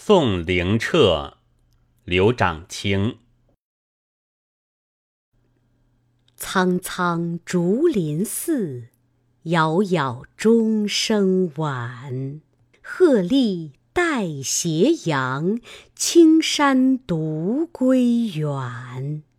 宋灵彻，刘长卿。 苍苍竹林寺，杳杳钟声晚。鹤唳带斜阳，青山独归远。